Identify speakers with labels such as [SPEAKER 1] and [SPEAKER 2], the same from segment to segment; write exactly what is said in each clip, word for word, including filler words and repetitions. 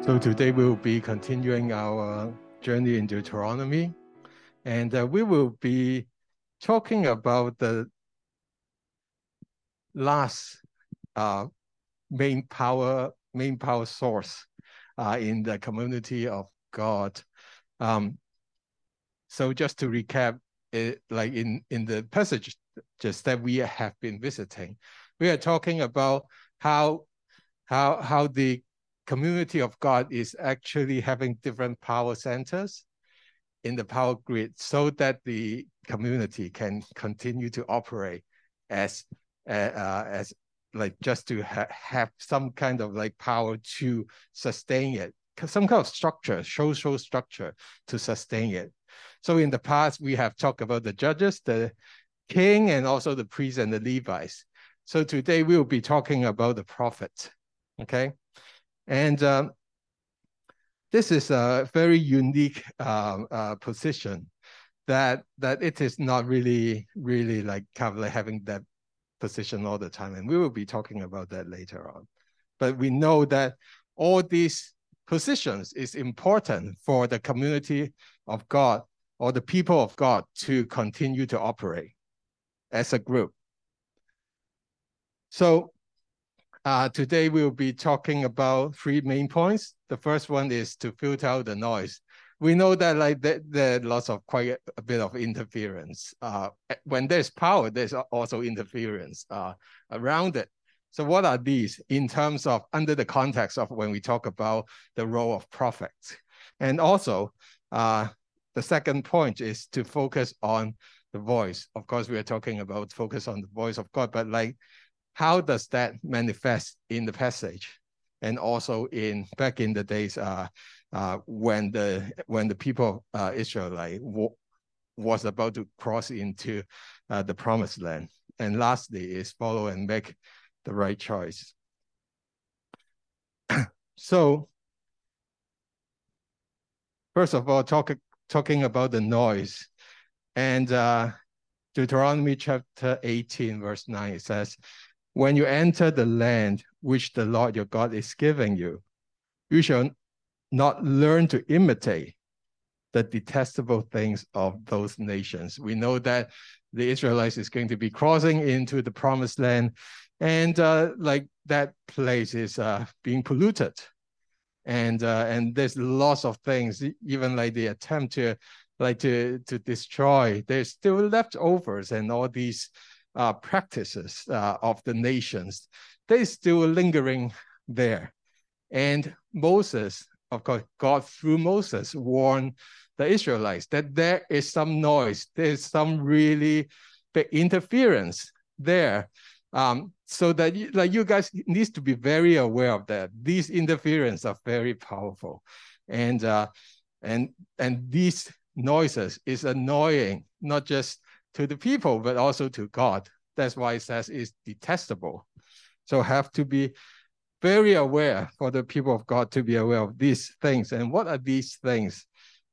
[SPEAKER 1] So today we will be continuing our journey in Deuteronomy, and uh, we will be talking about the last uh, main power main power source uh, in the community of God. Um, so just to recap, it, like in, in the passages that we have been visiting, we are talking about how how how the community of God is actually having different power centers in the power grid so that the community can continue to operate as uh, uh, as like just to ha have some kind of like power to sustain it, some kind of structure, social structure to sustain it. So in the past, we have talked about the judges, the king, and also the priests and the Levites. So today we will be talking about the prophets, okay? And um, this is a very unique uh, uh, position that that it is not really, really like kind of like having that position all the time. And we will be talking about that later on. But we know that all these positions is important for the community of God or the people of God to continue to operate as a group. So uh, today we'll be talking about three main points. The first one is to filter out the noise. We know that like there, there are lots of quite a bit of interference. Uh, when there's power, there's also interference uh, around it. So what are these in terms of under the context of when we talk about the role of prophets? And also, uh, the second point is to focus on the voice. Of course, we are talking about focus on the voice of God, but like, how does that manifest in the passage? And also in back in the days uh, uh, when the when the people of uh, Israel like, was about to cross into uh, the promised land. And lastly is follow and make the right choice. So first of all, talk, talking about the noise. And uh, Deuteronomy chapter eighteen, verse nine, it says, when you enter the land which the Lord your God is giving you, you shall not learn to imitate the detestable things of those nations. We know that the Israelites is going to be crossing into the promised land, and uh, like that place is uh, being polluted. And uh, and there's lots of things, even like the attempt to like to, to destroy, there's still leftovers and all these Uh, practices uh, of the nations, they're still lingering there. And Moses, of course, God through Moses warned the Israelites that there is some noise, there's some really big interference there. Um, so that you, like you guys need to be very aware of that. These interference are very powerful. And, uh, and, and these noises is annoying, not just to the people, but also to God. That's why it says it's detestable. So have to be very aware for the people of God to be aware of these things. And what are these things?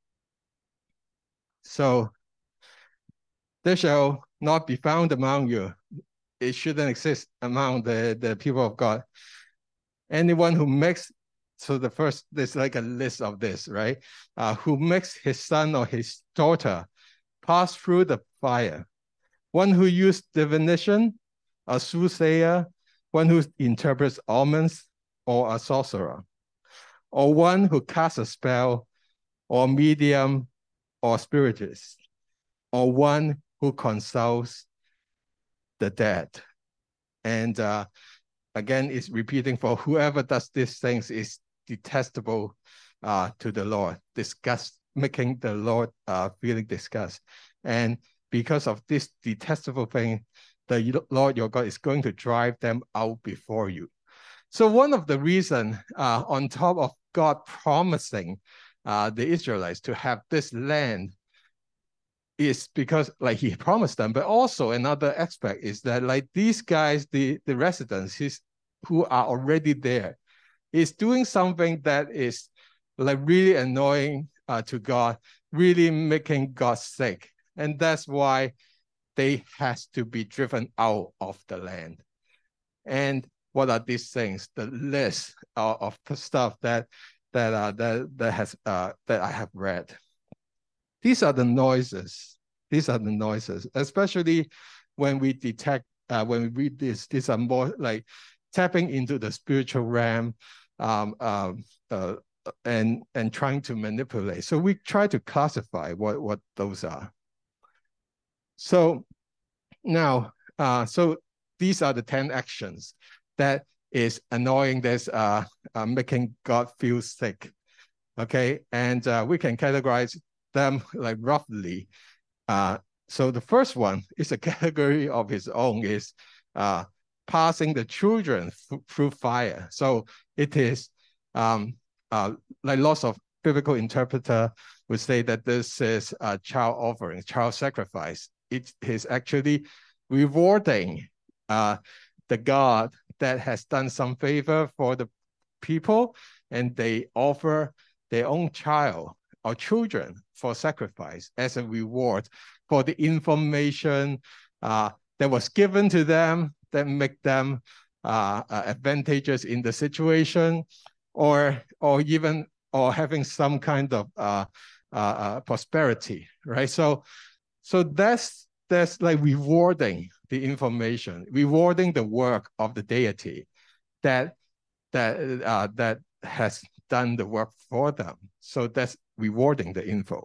[SPEAKER 1] So there shall not be found among you. It shouldn't exist among the, the people of God. Anyone who makes, so the first, there's like a list of this, right? Uh, who makes his son or his daughter pass through the fire. One who used divination, a soothsayer, one who interprets omens, or a sorcerer, or one who casts a spell, or medium, or spiritist, or one who consults the dead. And uh, again, it's repeating for whoever does these things is detestable uh, to the Lord, disgust, making the Lord uh, feeling disgust. And because of this detestable thing, the Lord your God is going to drive them out before you. So one of the reasons, uh, on top of God promising uh, the Israelites to have this land, is because like he promised them, but also another aspect is that like these guys, the, the residents his, who are already there, is doing something that is like really annoying uh, to God, really making God sick. And that's why they has to be driven out of the land. And what are these things? The list of, of the stuff that that uh, that that has uh, that I have read. These are the noises. These are the noises, especially when we detect uh, when we read this. These are more like tapping into the spiritual realm, um, um, uh, and and trying to manipulate. So we try to classify what what those are. So now, uh, so these are the ten actions that is annoying. That's uh, uh, making God feel sick. Okay, and uh, we can categorize them like roughly. Uh, so the first one is a category of its own, is uh, passing the children through fire. So it is um, uh, like lots of biblical interpreter would say that this is a child offering, child sacrifice. It is actually rewarding uh, the God that has done some favor for the people, and they offer their own child or children for sacrifice as a reward for the information uh, that was given to them that make them uh, uh, advantageous in the situation, or or even or having some kind of uh, uh, uh, prosperity, right? So so that's that's like rewarding the information, rewarding the work of the deity that that uh, that has done the work for them. So that's rewarding the info.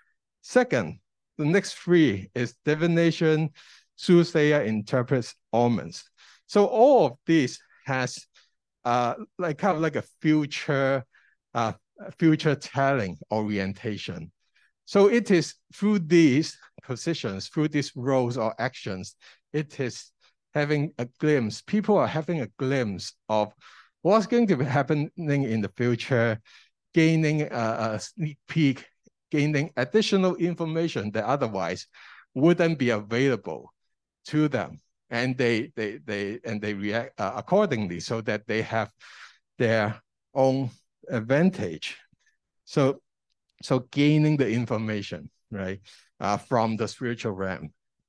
[SPEAKER 1] Second, the next three is divination, soothsayer, interprets omens. So all of these has uh, like kind of like a future, uh, future telling orientation. So it is through these positions, through these roles or actions, it is having a glimpse. People are having a glimpse of what's going to be happening in the future, gaining a, a sneak peek, gaining additional information that otherwise wouldn't be available to them, and they they they and they react uh, accordingly, so that they have their own advantage. So so gaining the information, right, uh, from the spiritual realm.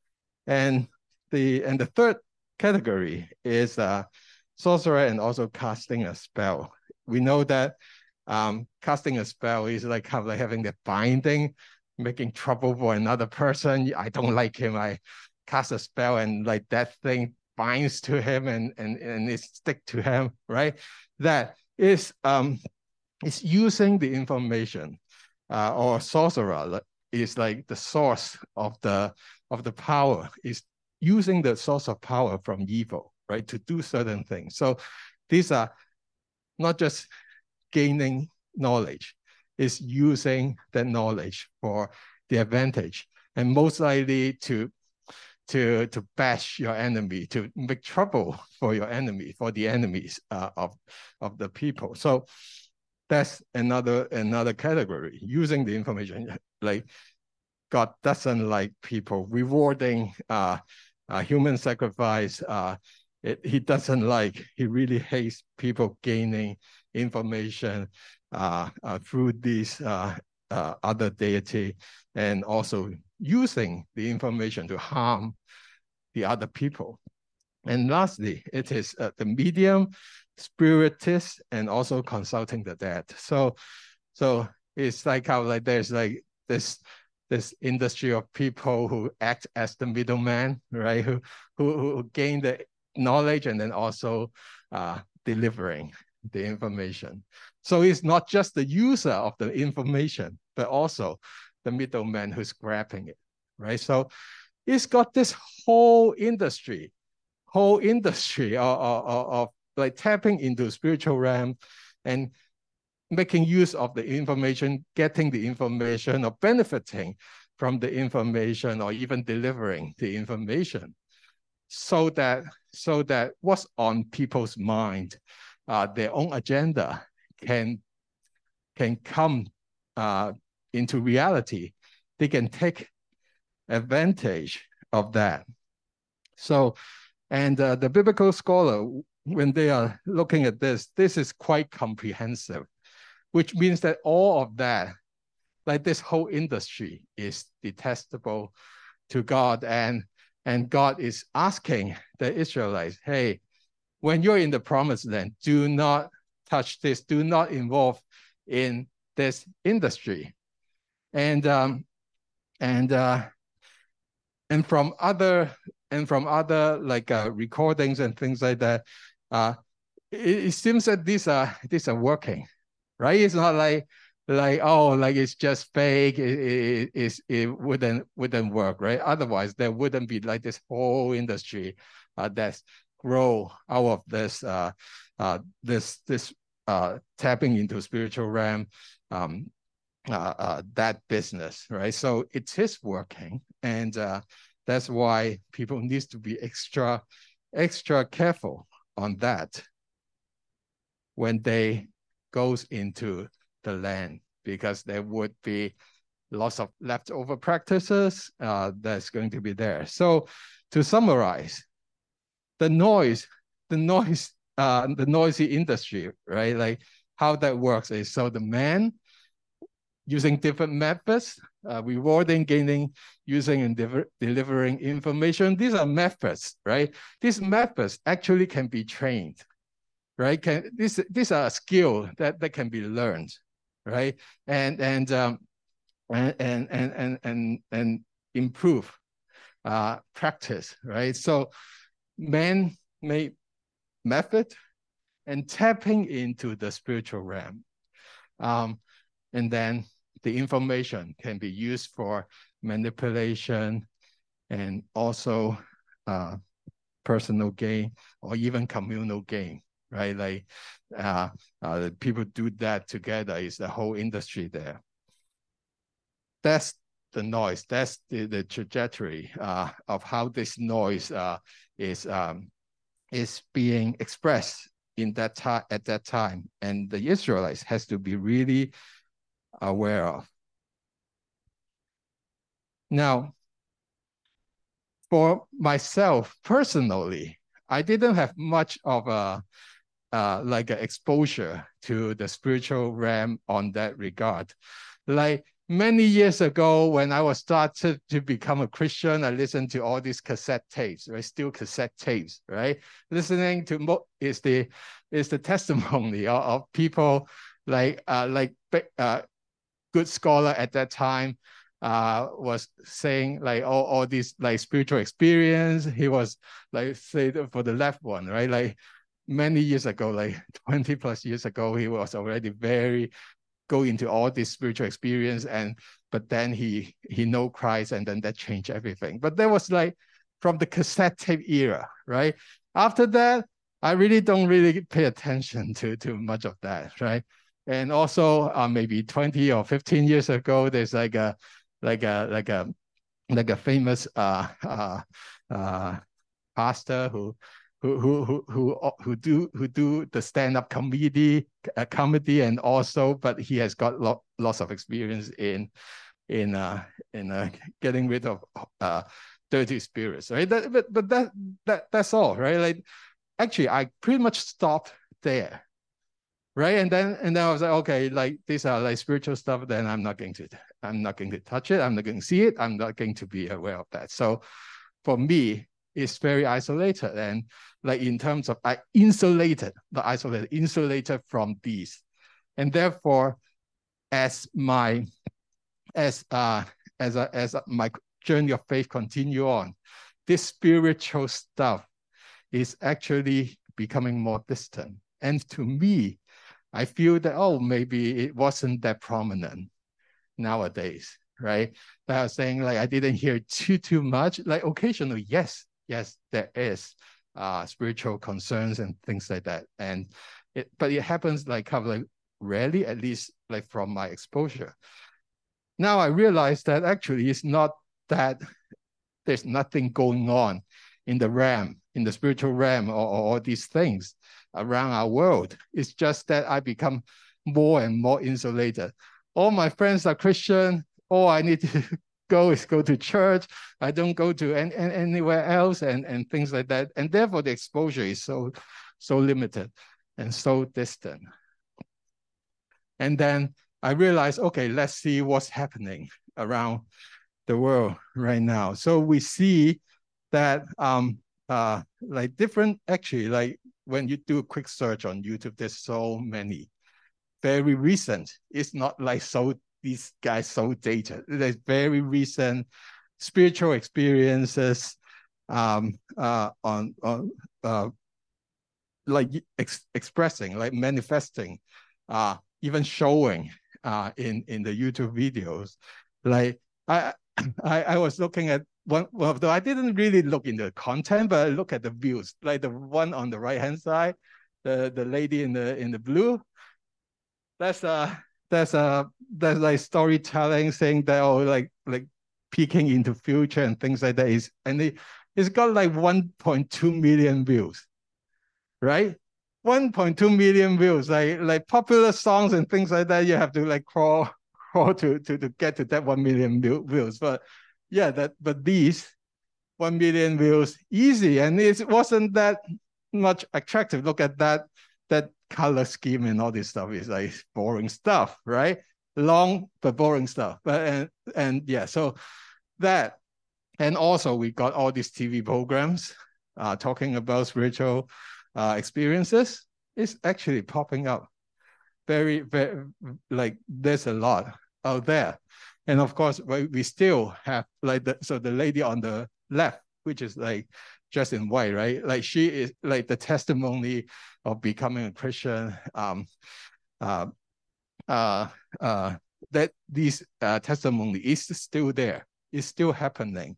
[SPEAKER 1] And the and the third category is uh, sorcerer and also casting a spell. We know that um, casting a spell is like kind of like having the binding, making trouble for another person. I don't like him. I cast a spell, and like that thing binds to him, and and and it stick to him, right? That is um, is using the information, uh, or sorcerer is like the source of the of the power, is using the source of power from evil, right, to do certain things. So these are not just gaining knowledge, is using that knowledge for the advantage, and most likely to to to bash your enemy, to make trouble for your enemy, for the enemies uh, of of the people. So that's another another category, using the information. Like God doesn't like people rewarding uh, uh, human sacrifice. Uh, it, he doesn't like, he really hates people gaining information uh, uh, through these uh, uh, other deity, and also using the information to harm the other people. And lastly, it is uh, the medium, spiritist, and also consulting the dead. So, so it's like how like there's like this this industry of people who act as the middleman, right? Who who who gain the knowledge and then also uh, delivering the information. So it's not just the user of the information, but also the middleman who's grabbing it, right? So it's got this whole industry, whole industry of, of, of like tapping into spiritual realm and making use of the information, getting the information, or benefiting from the information, or even delivering the information, so that so that what's on people's mind, uh, their own agenda, can can come uh, into reality. They can take advantage of that. So, and uh, the biblical scholar, when they are looking at this, this is quite comprehensive, which means that all of that, like this whole industry, is detestable to God. And, and God is asking the Israelites, hey, when you're in the promised land, do not touch this, do not involve in this industry. And um, and uh, and from other and from other like uh, recordings and things like that, uh, it, it seems that these are these are working, right? It's not like like oh like it's just fake. It it, it, it wouldn't wouldn't work, right? Otherwise, there wouldn't be like this whole industry uh, that's grow out of this uh, uh, this this uh, tapping into spiritual realm. Um, uh, uh, that business, right? So it is working, and uh, that's why people need to be extra, extra careful on that when they goes into the land, because there would be lots of leftover practices uh, that's going to be there. So to summarize, the noise, the noise, uh, the noisy industry, right? Like how that works is, so the man using different methods, uh, rewarding, gaining, using, and de delivering information. These are methods, right? These methods actually can be trained, right? Can these these are a skill that, that can be learned, right? And and um, and and and and and, and improve uh, practice, right? So man-made method and tapping into the spiritual realm, um, and then the information can be used for manipulation and also uh, personal gain or even communal gain, right? Like uh, uh, people do that together. It's the whole industry there. That's the noise. That's the, the trajectory uh, of how this noise uh, is um, is being expressed in that time at that time, and the Israelites has to be really aware of. Now, for myself personally, I didn't have much of a uh, like an exposure to the spiritual realm on that regard. Like many years ago, when I was started to become a Christian, I listened to all these cassette tapes, right? Still cassette tapes, right? Listening to mo is the is the testimony of, of people like uh, like uh, good scholar at that time. Uh, was saying like all, all these like spiritual experience. He was like say for the left one, right? Like many years ago, like twenty plus years ago, he was already very go into all this spiritual experience, and but then he he know Christ, and then that changed everything. But that was like from the cassette tape era, right? After that, I really don't really pay attention to to much of that, right? And also uh, maybe twenty or fifteen years ago, there's like a like a like a like a famous uh uh uh pastor who who who who who who do who do the stand-up comedy uh, comedy and also, but he has got lo lots of experience in in uh in uh, getting rid of uh dirty spirits, right? That, but but that that that's all, right? Like actually, I pretty much stopped there. Right. And then and then I was like, okay, like these are like spiritual stuff, then I'm not going to I'm not going to touch it. I'm not going to see it. I'm not going to be aware of that. So for me, it's very isolated. And like in terms of I insulated, not isolated, insulated from these. And therefore, as my as uh as a, as a, my journey of faith continue on, this spiritual stuff is actually becoming more distant. And to me, I feel that, oh, maybe it wasn't that prominent nowadays, right? But I was saying, like, I didn't hear too, too much. Like, occasionally, yes, yes, there is uh, spiritual concerns and things like that. And it, but it happens like kind of like rarely, at least like from my exposure. Now I realize that actually it's not that there's nothing going on in the realm, in the spiritual realm, or, or all these things around our world. It's just that I become more and more insulated. All my friends are Christian. All I need to go is go to church. I don't go to any, anywhere else and, and things like that. And therefore the exposure is so, so limited and so distant. And then I realized, okay, let's see what's happening around the world right now. So we see that um, uh, like different, actually, like when you do a quick search on YouTube, there's so many very recent. It's not like so these guys so dated. It's very recent spiritual experiences um, uh, on on uh, like ex expressing, like manifesting, uh, even showing uh, in in the YouTube videos. Like I I, I was looking at one, one of the, I didn't really look into the content, but I look at the views. Like the one on the right hand side, the the lady in the in the blue. That's a that's a that's like storytelling, saying that oh like like peeking into future and things like that is, and it, it's got like one point two million views, right? one point two million views, like like popular songs and things like that. You have to like crawl crawl to to to get to that one million views. But yeah, that but these one million views easy, and it wasn't that much attractive. Look at that that color scheme and all this stuff is like boring stuff, right? Long but boring stuff. But and and yeah, so that, and also we got all these T V programs uh, talking about spiritual uh, experiences. It's actually popping up very, very, like there's a lot out there. And of course, we, we still have like the, so the lady on the left, which is like dressed in white, right? Like she is like the testimony of becoming a Christian. Um, uh, uh, uh, that these uh, testimony is still there. It's still happening.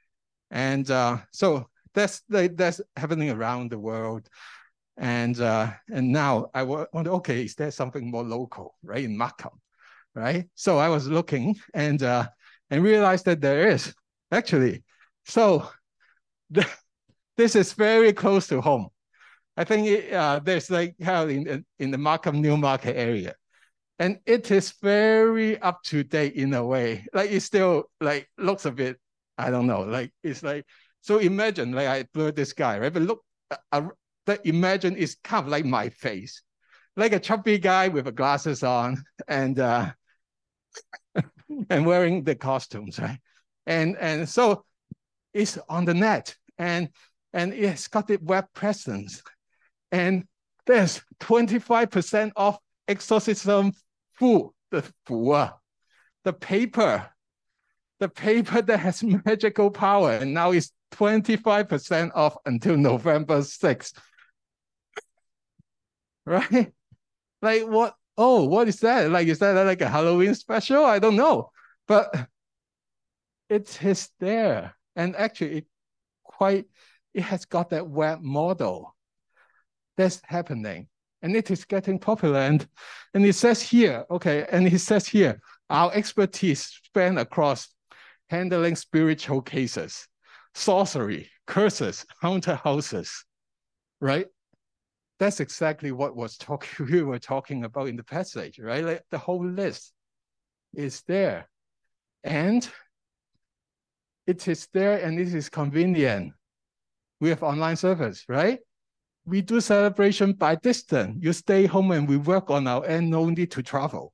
[SPEAKER 1] And uh, so that's like, that's happening around the world. And uh, and now I wonder, okay, is there something more local, right, in Markham, right? So I was looking and uh, and realized that there is actually. So the, this is very close to home. I think it, uh, there's like how in in the Markham Newmarket area, and it is very up to date in a way. Like it still like looks a bit, I don't know, like it's like, so imagine like I blurred this guy, right? But look, uh, that imagine is kind of like my face, like a chubby guy with glasses on and uh, and wearing the costumes, right? And and so it's on the net, and and it's got the web presence, and there's twenty-five percent off exorcism food, the food, the paper, the paper that has magical power, and now it's twenty-five percent off until November sixth. Right? Like what? Oh, what is that? Like, is that like a Halloween special? I don't know. But it is there. And actually, it quite, it has got that web model that's happening. And it is getting popular. And, and it says here, okay, and it says here, our expertise span across handling spiritual cases, sorcery, curses, haunted houses, right? That's exactly what was talking we were talking about in the passage, right? Like the whole list is there. And it is there and it is convenient. We have online service, right? We do celebration by distance. You stay home and we work on our end, no need to travel.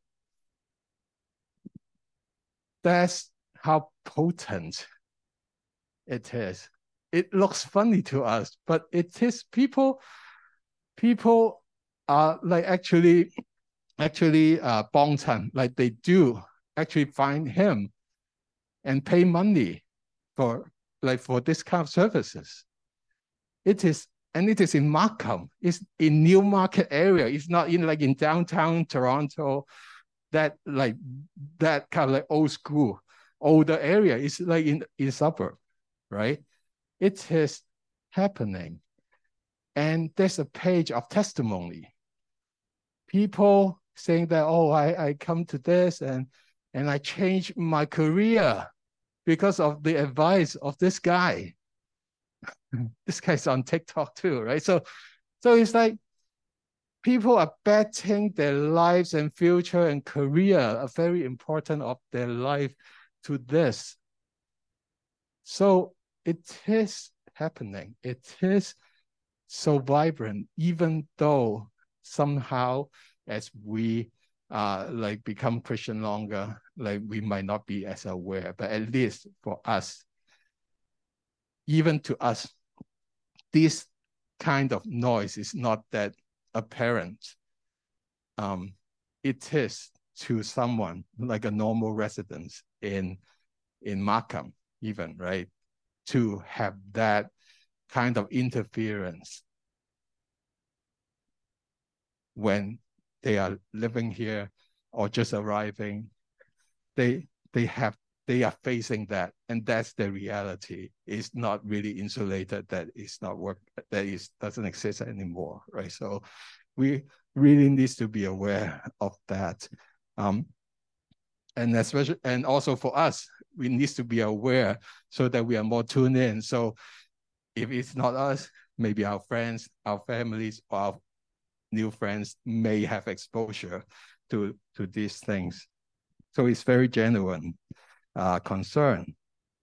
[SPEAKER 1] That's how potent it is. It looks funny to us, but it is people, people are like actually, actually uh, bong chan, like they do actually find him and pay money for like for this kind of services. It is, and it is in Markham. It's in Newmarket area. It's not in like in downtown Toronto, that like that kind of like old school, older area. It's like in in suburb, right? It is happening. And there's a page of testimony. People saying that, oh, I, I come to this and and I changed my career because of the advice of this guy. This guy's on TikTok too, right? So, so it's like people are betting their lives and future and career are very important of their life to this. So it is happening. It is so vibrant, even though somehow as we uh, like become Christian longer, like we might not be as aware, but at least for us, even to us, this kind of noise is not that apparent. Um, it is to someone like a normal resident in, in Markham even, right? To have that kind of interference when they are living here or just arriving. They, they have They are facing that, and that's the reality. It's not really insulated, that is not work, that is doesn't exist anymore, right? So we really need to be aware of that. Um, and especially, and also for us, we need to be aware so that we are more tuned in. So if it's not us, maybe our friends, our families, or our new friends may have exposure to, to these things. So it's very genuine uh, concern.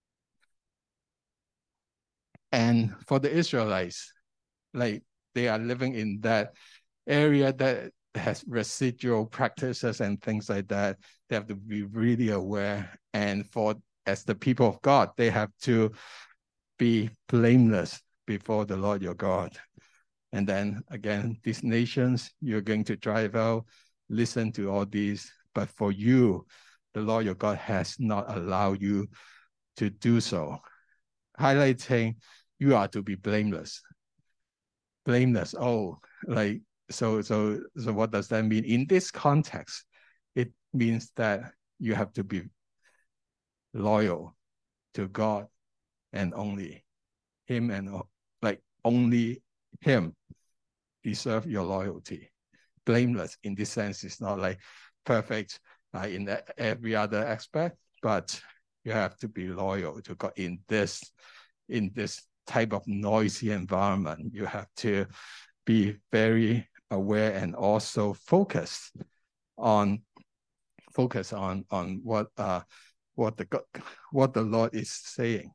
[SPEAKER 1] And for the Israelites, like they are living in that area that has residual practices and things like that. They have to be really aware. And for as the people of God, they have to be blameless before the Lord your God. And then again, these nations you're going to drive out, listen to all these, but for you, the Lord your God has not allowed you to do so. Highlighting, you are to be blameless. Blameless, oh, like, so, so, so what does that mean? In this context, it means that you have to be loyal to God and only Him, and like only Him deserve your loyalty. Blameless in this sense is not like perfect uh, in every other aspect, but you have to be loyal to God in this, in this type of noisy environment. You have to be very aware and also focused on focus on on what uh what the God, what the Lord is saying.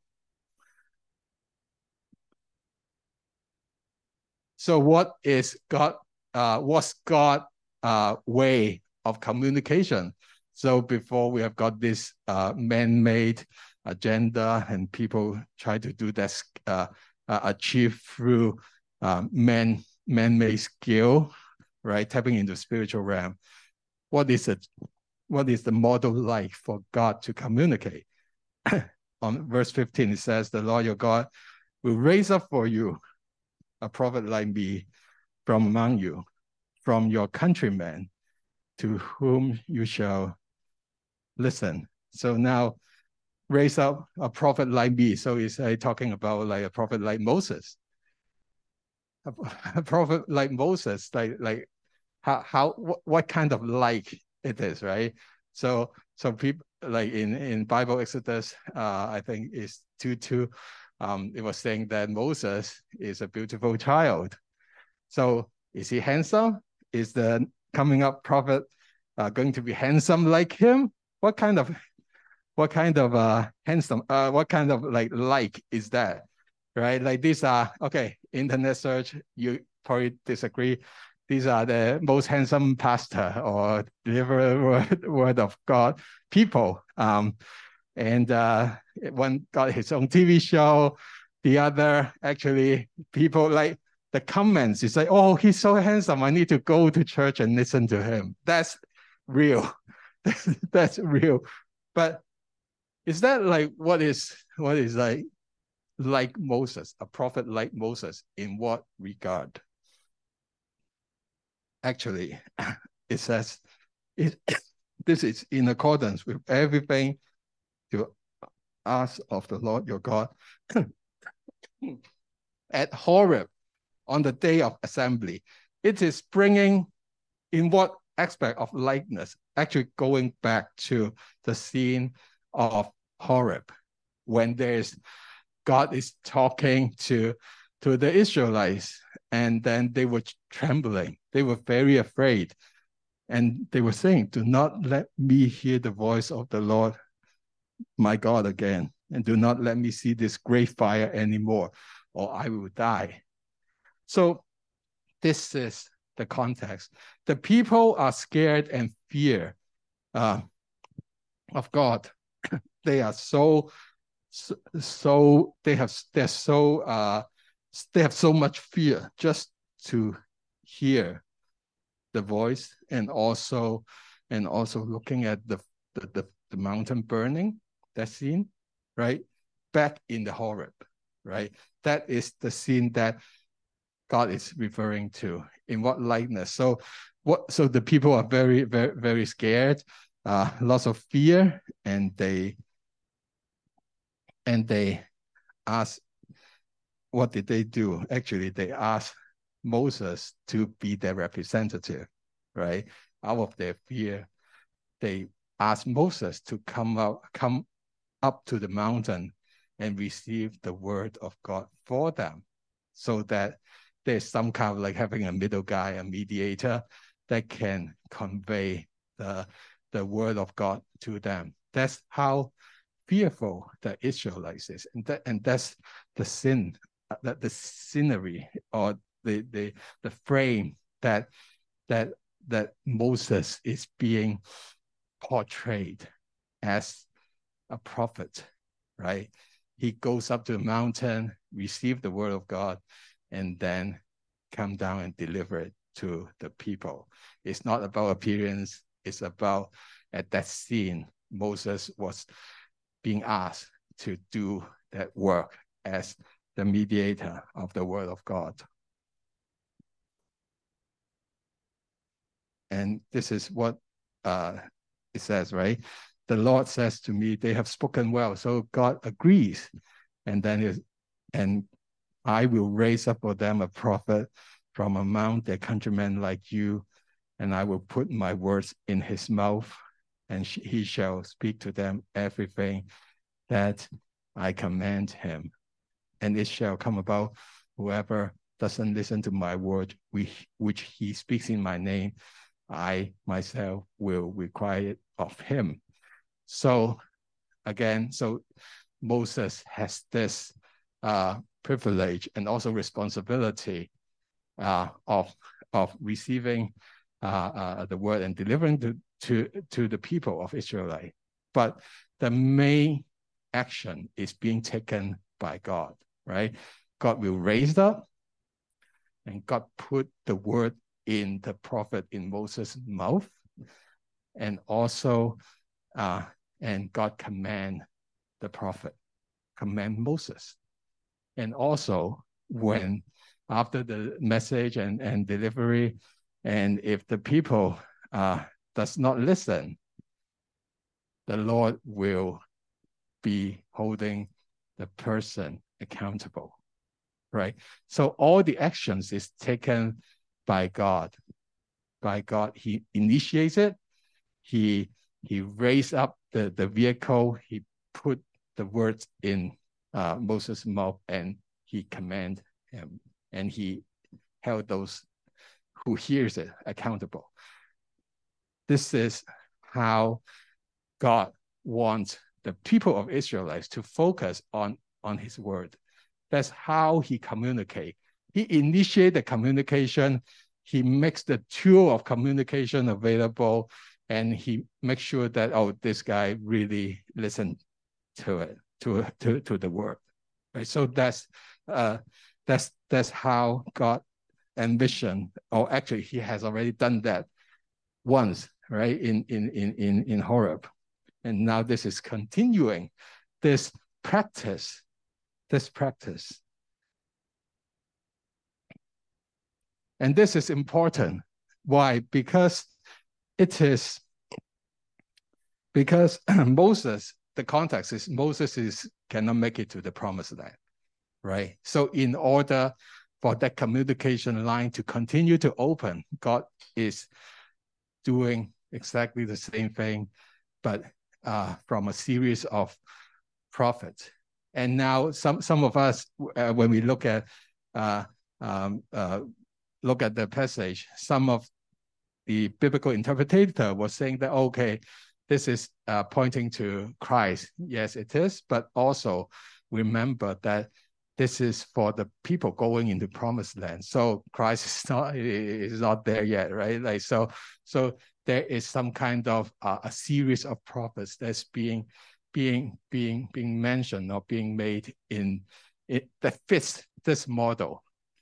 [SPEAKER 1] So what is God? Uh, what's God uh, way of communication? So before we have got this uh, man-made agenda, and people try to do that uh, uh, achieve through uh, man man-made skill, right? Tapping into spiritual realm. What is it? What is the model like for God to communicate? On verse fifteen, it says, "The Lord your God will raise up for you a prophet like me from among you, from your countrymen, to whom you shall listen." So now, raise up a prophet like me. So he's uh, talking about like a prophet like Moses. A, a prophet like Moses, like like how how what, what kind of like it is, right? So so people like in in Bible Exodus, uh, I think it's two two. Um, it was saying that Moses is a beautiful child. So is he handsome? Is the coming up prophet uh, going to be handsome like him? What kind of what kind of uh handsome uh what kind of like like is that, right? Like these are okay. Internet search, you probably disagree. These are the most handsome pastor or deliverer word, word of God people. Um, and uh, one got his own T V show. The other actually people like the comments. It's like, oh, he's so handsome. I need to go to church and listen to him. That's real. That's, that's real. But is that like what is what is like like Moses, a prophet like Moses, in what regard? Actually, it says it, this is in accordance with everything you ask of the Lord your God at Horeb on the day of assembly. It is bringing in what aspect of likeness? Actually going back to the scene of Horeb, when there's God is talking to, to the Israelites, and then they were trembling. They were very afraid. And they were saying, do not let me hear the voice of the Lord, my God, again. And do not let me see this great fire anymore, or I will die. So this is the context. The people are scared and fear uh, of God. They are so, so, so they have, they're so, uh, they have so much fear just to hear the voice, and also and also looking at the the, the, the mountain burning, that scene, right? Back in the Horeb, right? That is the scene that God is referring to. In what likeness? So what so the people are very, very, very scared, uh, lots of fear, and they and they ask, what did they do? Actually, they asked Moses to be their representative, right? Out of their fear, they asked Moses to come out, come up to the mountain and receive the word of God for them, so that there's some kind of like having a middle guy, a mediator that can convey the, the word of God to them. That's how fearful the Israelites is. And, that, and that's the sin, that the scenery or the, the, the frame that, that, that Moses is being portrayed as a prophet, right? He goes up to the mountain, receive the word of God, and then come down and deliver it to the people. It's not about appearance. It's about, at that scene, Moses was being asked to do that work as the mediator of the word of God. And this is what uh, it says, right? The Lord says to me, they have spoken well. So God agrees. And then, it, and I will raise up for them a prophet from among their countrymen like you, and I will put my words in his mouth, and he shall speak to them everything that I command him. And it shall come about, whoever doesn't listen to my word, which, which he speaks in my name, I myself will require it of him. So again, so Moses has this uh, privilege and also responsibility uh, of, of receiving uh, uh, the word and delivering to, to, to the people of Israel. But the main action is being taken by God, right? God will raise up, and God put the word in the prophet in Moses' mouth, and also uh, and God command the prophet, command Moses. And also when after the message and, and delivery, and if the people uh, does not listen, the Lord will be holding the person accountable, right? So all the actions is taken by God. By God, he initiates it. He he raised up the, the vehicle. He put the words in uh, Moses' mouth, and he commanded him, and he held those who hears it accountable. This is how God wants the people of Israelites to focus on, on his word. That's how he communicates. He initiates the communication. He makes the tool of communication available, and he makes sure that, oh, this guy really listened to it, to, to, to the word. Right? So that's, uh, that's, that's how God envisioned, or actually he has already done that once, right, in, in, in, in, in Horeb. And now this is continuing this practice, this practice. And this is important. Why? Because it is, because Moses, the context is Moses is cannot make it to the promised land, right? So in order for that communication line to continue to open, God is doing exactly the same thing, but uh, from a series of prophets. And now some, some of us, uh, when we look at uh, um, uh, look at the passage, some of the biblical interpreter was saying that, okay, this is uh, pointing to Christ. Yes, it is, but also remember that this is for the people going into promised land. So Christ is not, is not there yet, right? Like, so, so there is some kind of uh, a series of prophets that's being, being, being, being mentioned or being made in it that fits this model.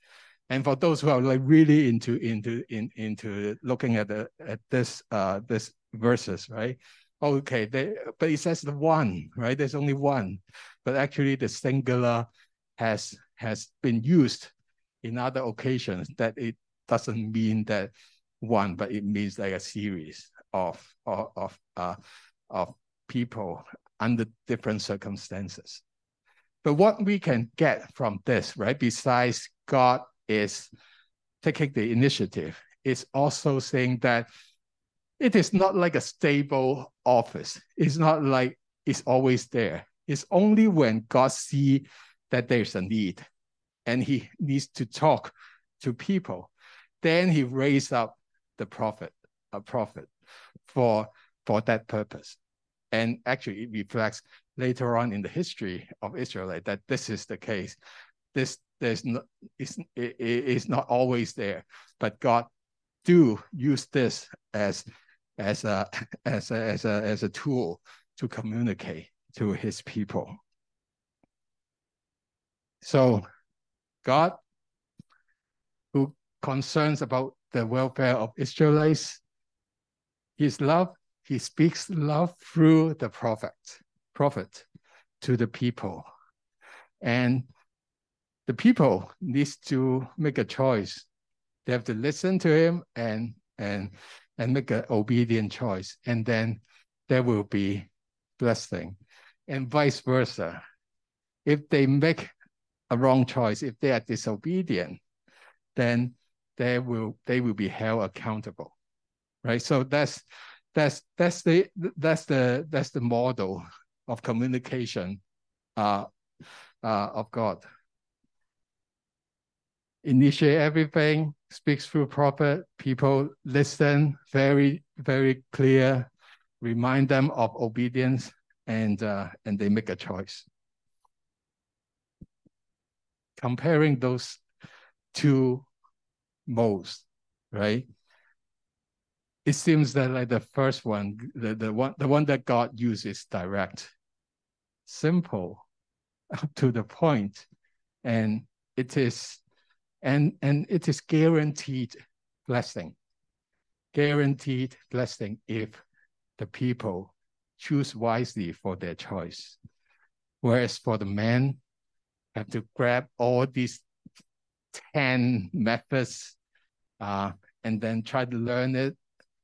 [SPEAKER 1] And for those who are like really into into in, into looking at the at this uh this verses, right? Okay, they, but it says the one, right? There's only one, but actually the singular has has been used in other occasions. That it doesn't mean that one, but it means like a series of of of uh, of people under different circumstances. But what we can get from this, right? Besides God is taking the initiative, is also saying that it is not like a stable office. It's not like it's always there. It's only when God sees that there's a need and he needs to talk to people, then he raised up the prophet, a prophet for, for that purpose. And actually it reflects later on in the history of Israel that this is the case. This there's no, it's, it, it's not always there, but God do use this as as a as a as a as a tool to communicate to his people. So God, who concerns about the welfare of Israelites, his love, he speaks love through the prophet, prophet to the people. And the people needs to make a choice. They have to listen to him and and and make an obedient choice, and then there will be blessing, and vice versa. If they make a wrong choice, if they are disobedient, then they will they will be held accountable, right? So that's that's that's the that's the that's the model of communication uh, uh, of God. Initiate everything, speaks through prophet, people listen, very, very clear, remind them of obedience, and, uh, and they make a choice. Comparing those two modes, right? It seems that like the first one, the, the one the one that God uses direct, simple, to the point, and it is And, and it is guaranteed blessing, guaranteed blessing if the people choose wisely for their choice. Whereas for the men, have to grab all these ten methods uh, and then try to learn it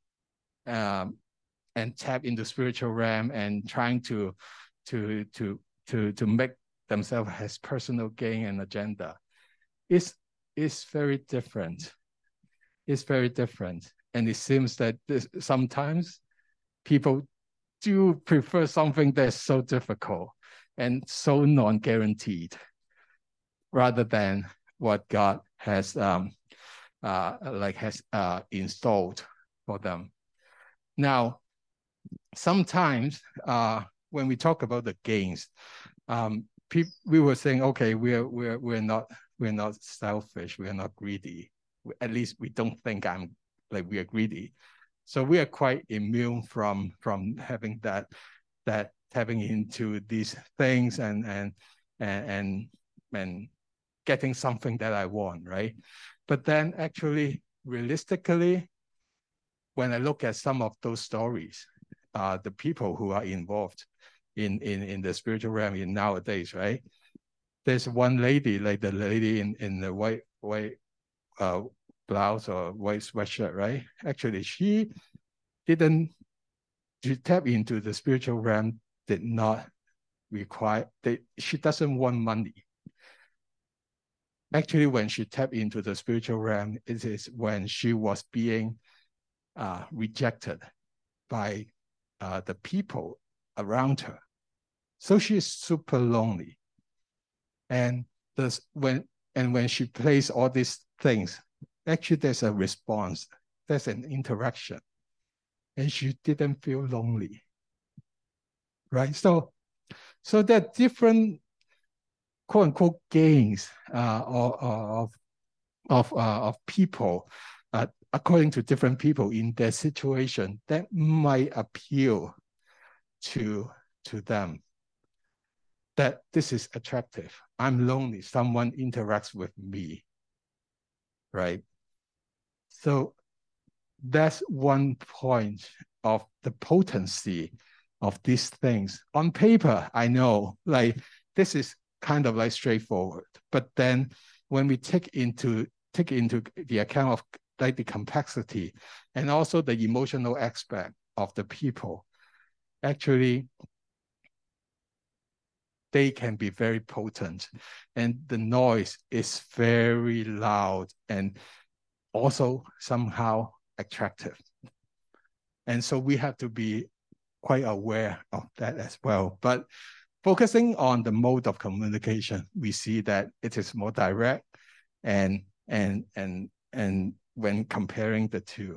[SPEAKER 1] um, and tap into spiritual realm and trying to, to, to, to, to make themselves as personal gain and agenda. It's is very different. It's very different. And it seems that this, sometimes people do prefer something that's so difficult and so non-guaranteed rather than what God has um, uh, like has uh, installed for them. Now, sometimes uh, when we talk about the gains, um, we were saying, okay, we're we're we're not we're not selfish, we're not greedy. At least we don't think I'm like we are greedy. So we are quite immune from from having that that tapping into these things and and and and, and getting something that I want, right? But then actually, realistically, when I look at some of those stories, uh, the people who are involved in, in, in the spiritual realm in nowadays, right? There's one lady, like the lady in, in the white white uh, blouse or white sweatshirt, right? Actually, she didn't, to tap into the spiritual realm did not require, they, she doesn't want money. Actually, when she tapped into the spiritual realm, it is when she was being uh, rejected by uh, the people around her. So she's super lonely. And this, when and when she plays all these things, actually there's a response, there's an interaction, and she didn't feel lonely, right? So, so there are different quote unquote gains uh, of of uh, of people, uh, according to different people in their situation, that might appeal to to them. That this is attractive. I'm lonely. Someone interacts with me. right? So that's one point of the potency of these things. On paper, I know, like, this is kind of like straightforward, but then when we take into take into the account of like the complexity and also the emotional aspect of the people, actually they can be very potent, and the noise is very loud and also somehow attractive. And so we have to be quite aware of that as well. But focusing on the mode of communication, we see that it is more direct and and and and when comparing the two.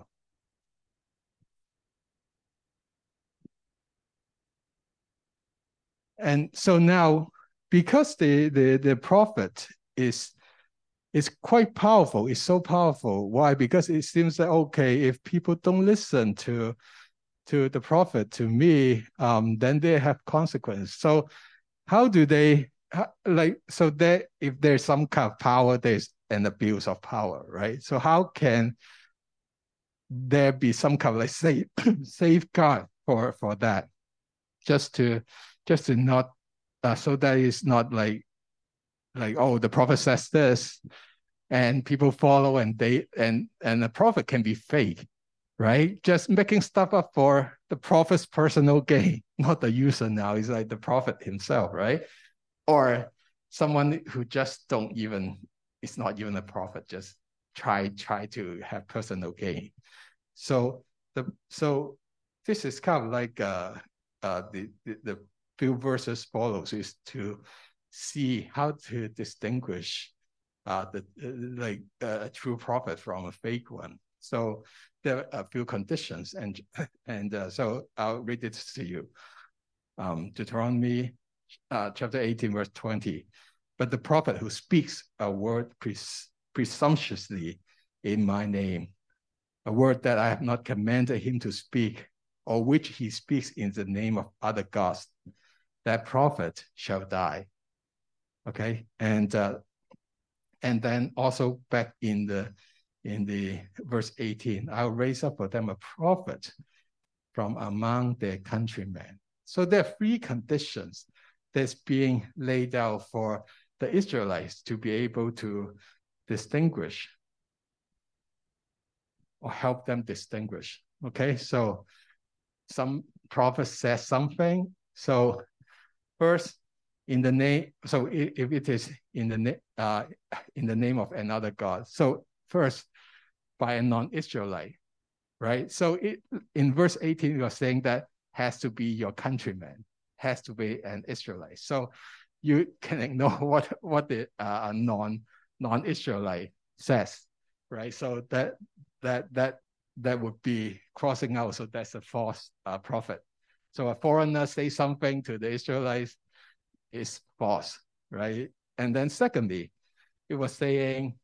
[SPEAKER 1] And so now, because the the, the prophet is is quite powerful, it's so powerful. Why? Because it seems that, okay, if people don't listen to to the prophet, to me, um, then they have consequence. So how do they, like, so that if there's some kind of power, there's an abuse of power, right? So how can there be some kind of like safe, safeguard for, for that? Just to, just to not, uh, so that it's not like, like, oh, the prophet says this, and people follow, and they, and, and the prophet can be fake, right? Just making stuff up for the prophet's personal gain, not the user now. It's like the prophet himself, right? Or someone who just don't even, it's not even a prophet, just try try to have personal gain. So the so this is kind of like uh, uh, the, the the few verses follows is to see how to distinguish uh, the uh, like uh, a true prophet from a fake one. So there are a few conditions, and and uh, so I'll read it to you. Um, Deuteronomy uh, chapter eighteen, verse twenty. But the prophet who speaks a word pres presumptuously in my name, a word that I have not commanded him to speak, or which he speaks in the name of other gods, that prophet shall die. Okay, and uh, and then also back in the in the verse eighteen, I'll raise up for them a prophet from among their countrymen. So there are three conditions that's being laid out for the Israelites to be able to distinguish or help them distinguish. Okay, so some prophet says something. So first, in the name, so if it is in the uh, in the name of another god. So first, by a non-Israelite, right? So it, in verse eighteen, you're saying that has to be your countryman, has to be an Israelite. So you can ignore what what the uh, non non-Israelite says, right? So that that that that would be crossing out. So that's a false uh, prophet. So a foreigner say something to the Israelites is false, right? And then secondly, it was saying,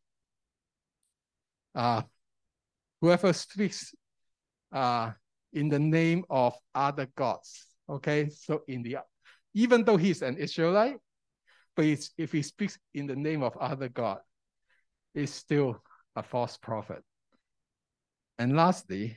[SPEAKER 1] uh, whoever speaks uh, in the name of other gods. Okay, so in the even though he's an Israelite, but if he speaks in the name of other god, it's still a false prophet. And lastly,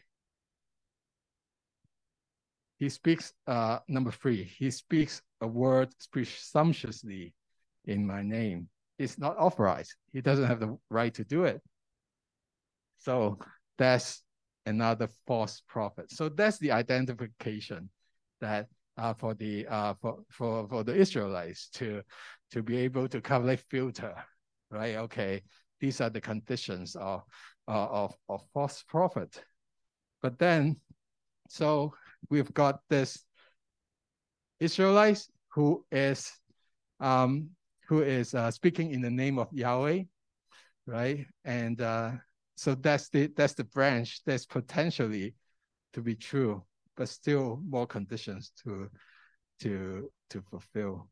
[SPEAKER 1] he speaks, uh, number three, he speaks a word presumptuously in my name. It's not authorized. He doesn't have the right to do it. So that's another false prophet. So that's the identification that uh, for the uh, for, for for the Israelites to to be able to kind of like filter, right? Okay, these are the conditions of uh, of of false prophet. But then, so we've got this Israelites who is um, who is uh, speaking in the name of Yahweh, right? And uh, so that's the that's the branch that's potentially to be true, but still more conditions to to to fulfill.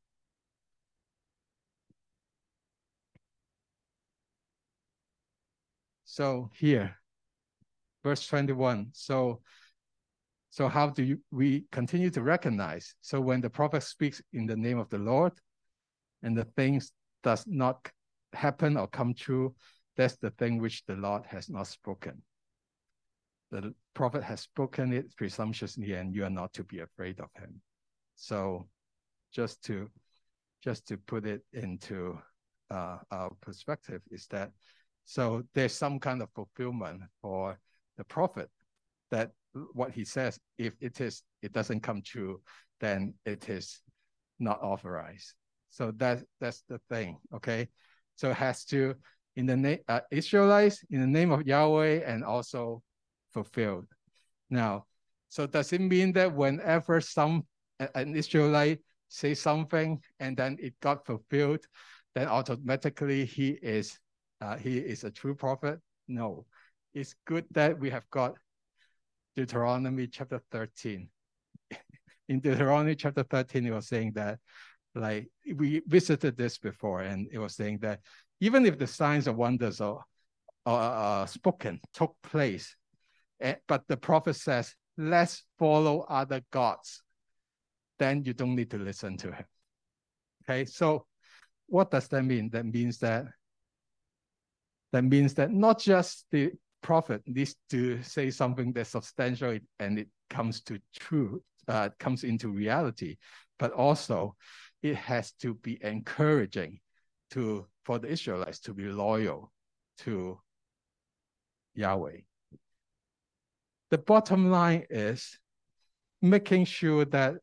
[SPEAKER 1] So here, verse twenty-one. So so how do you, we continue to recognize? So when the prophet speaks in the name of the Lord, and the things does not happen or come true, That's the thing which the Lord has not spoken. The prophet has spoken it presumptuously, and you are not to be afraid of him. So just to just to put it into uh, our perspective is that, so there's some kind of fulfillment for the prophet, that what he says, if it is, it doesn't come true, then it is not authorized. So that that's the thing, okay? So it has to, in the name uh, Israelites, in the name of Yahweh, and also fulfilled. Now, so does it mean that whenever some an Israelite say something and then it got fulfilled, then automatically he is uh, he is a true prophet? No. It's good that we have got Deuteronomy chapter thirteen. In Deuteronomy chapter thirteen, it was saying that, like, we visited this before, and it was saying that even if the signs or wonders or, or uh, spoken took place, eh, but the prophet says, let's follow other gods, then you don't need to listen to him. Okay, so what does that mean? That means that that means that not just the prophet needs to say something that's substantial and it comes to truth, uh, comes into reality, but also it has to be encouraging to for the Israelites to be loyal to Yahweh. The bottom line is making sure that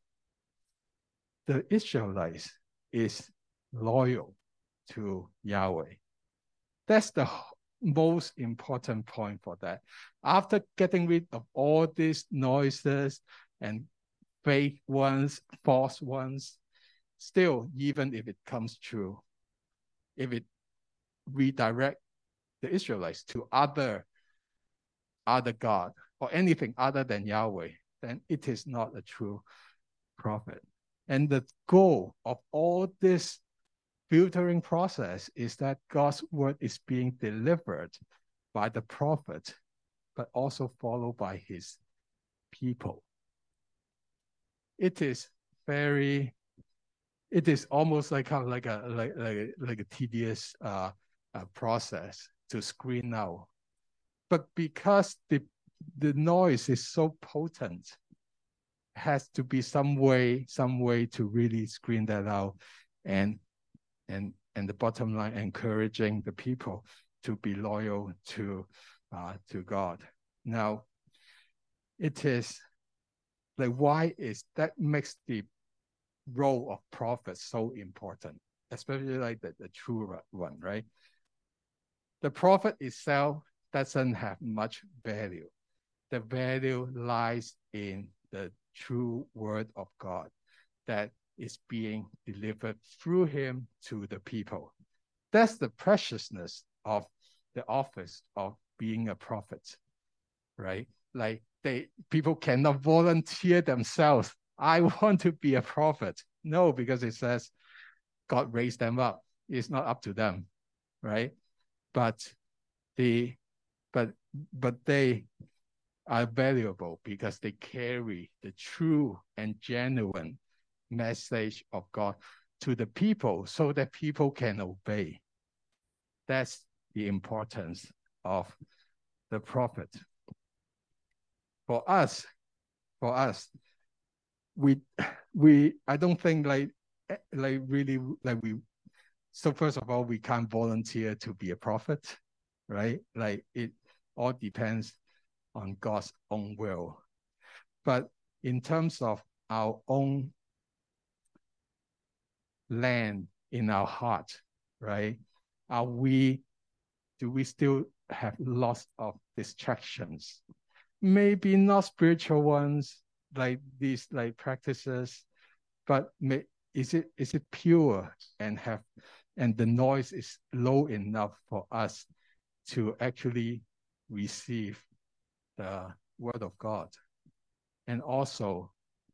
[SPEAKER 1] the Israelites is loyal to Yahweh. That's the most important point for that. After getting rid of all these noises and fake ones, false ones, still, even if it comes true, if it redirect the Israelites to other, other God or anything other than Yahweh, then it is not a true prophet. And the goal of all this filtering process is that God's word is being delivered by the prophet, but also followed by his people. It is very, it is almost like kind of like a like like a, like a tedious uh, uh, process to screen out. But because the the noise is so potent, has to be some way, some way to really screen that out, and and and the bottom line, encouraging the people to be loyal to uh, to God. Now, it is like, why is that makes the role of prophet so important, especially like the, the true one, right? The prophet itself doesn't have much value. The value lies in the true word of God that is being delivered through him to the people. That's the preciousness of the office of being a prophet, right? Like they people cannot volunteer themselves. I want to be a prophet. No, because it says God raised them up. It's not up to them, right? But the but but they are valuable because they carry the true and genuine message of God to the people so that people can obey. That's the importance of the prophet. For us, for us, we we I don't think like like really like we so first of all, we can't volunteer to be a prophet, right? Like it all depends on God's own will. But in terms of our own land in our heart, right? Are we, do we still have lots of distractions? Maybe not spiritual ones, like these like practices, but may, is it is it pure and have, and the noise is low enough for us to actually receive the word of God? And also,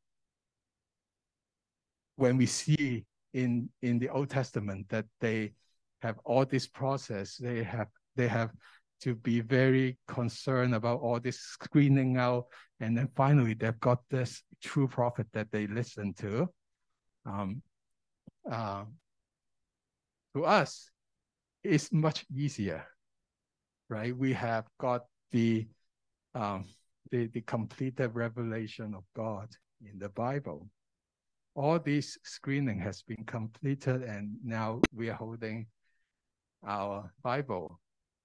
[SPEAKER 1] when we see in in the Old Testament that they have all this process, they have they have to be very concerned about all this screening out, and then finally they've got this true prophet that they listen to. Um, uh, to us, it's much easier right? We have got the um, the, the completed revelation of God in the Bible. All this screening has been completed, and now we are holding our Bible.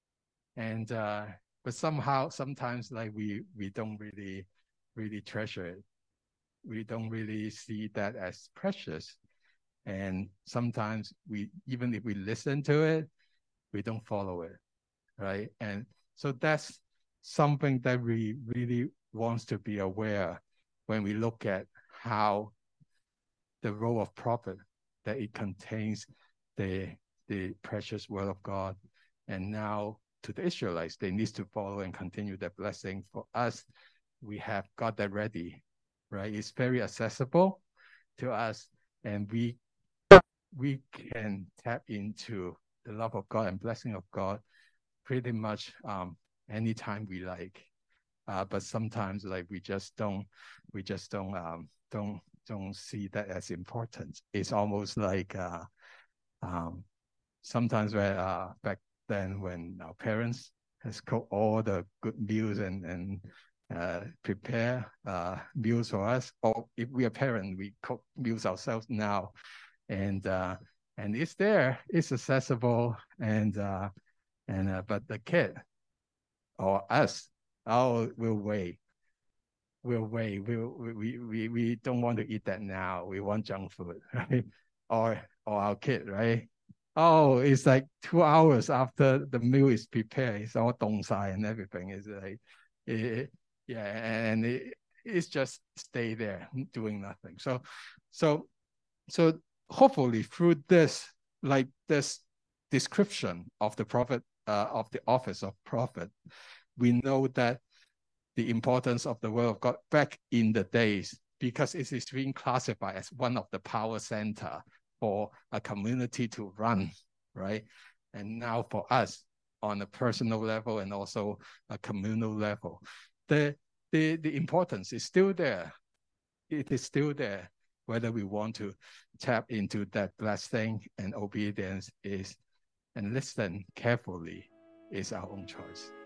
[SPEAKER 1] And uh, but somehow, sometimes, like we we don't really really treasure it. We don't really see that as precious. And sometimes we, even if we listen to it, we don't follow it, right? And so that's something that we really wants to be aware when we look at how the role of prophet, that it contains the the precious word of God. And now to the Israelites, they need to follow and continue that blessing. For us, we have got that ready, right? It's very accessible to us, and we we can tap into the love of God and blessing of God pretty much um, anytime we like. Uh, but sometimes, like we just don't, we just don't, um, don't, don't see that as important. It's almost like uh, um, sometimes where uh, back then when our parents has cooked all the good meals and and uh, prepare uh, meals for us, or if we are parents, we cook meals ourselves now, and uh, and it's there, it's accessible, and uh, and uh, but the kid or us, oh, we'll wait. We'll wait. We'll, we, we, we don't want to eat that now. We want junk food, right? Or, or our kid, right? Oh, it's like two hours after the meal is prepared. It's all dong-sai and everything. It's like, it, yeah, and it, it's just stay there doing nothing. So, so, so hopefully through this, like this description of the prophet, uh, of the office of prophet, we know that the importance of the word of God back in the days, because it is being classified as one of the power center for a community to run, right? And now for us on a personal level and also a communal level, the, the, the importance is still there. It is still there. Whether we want to tap into that blessing and obedience is, and listen carefully, is our own choice.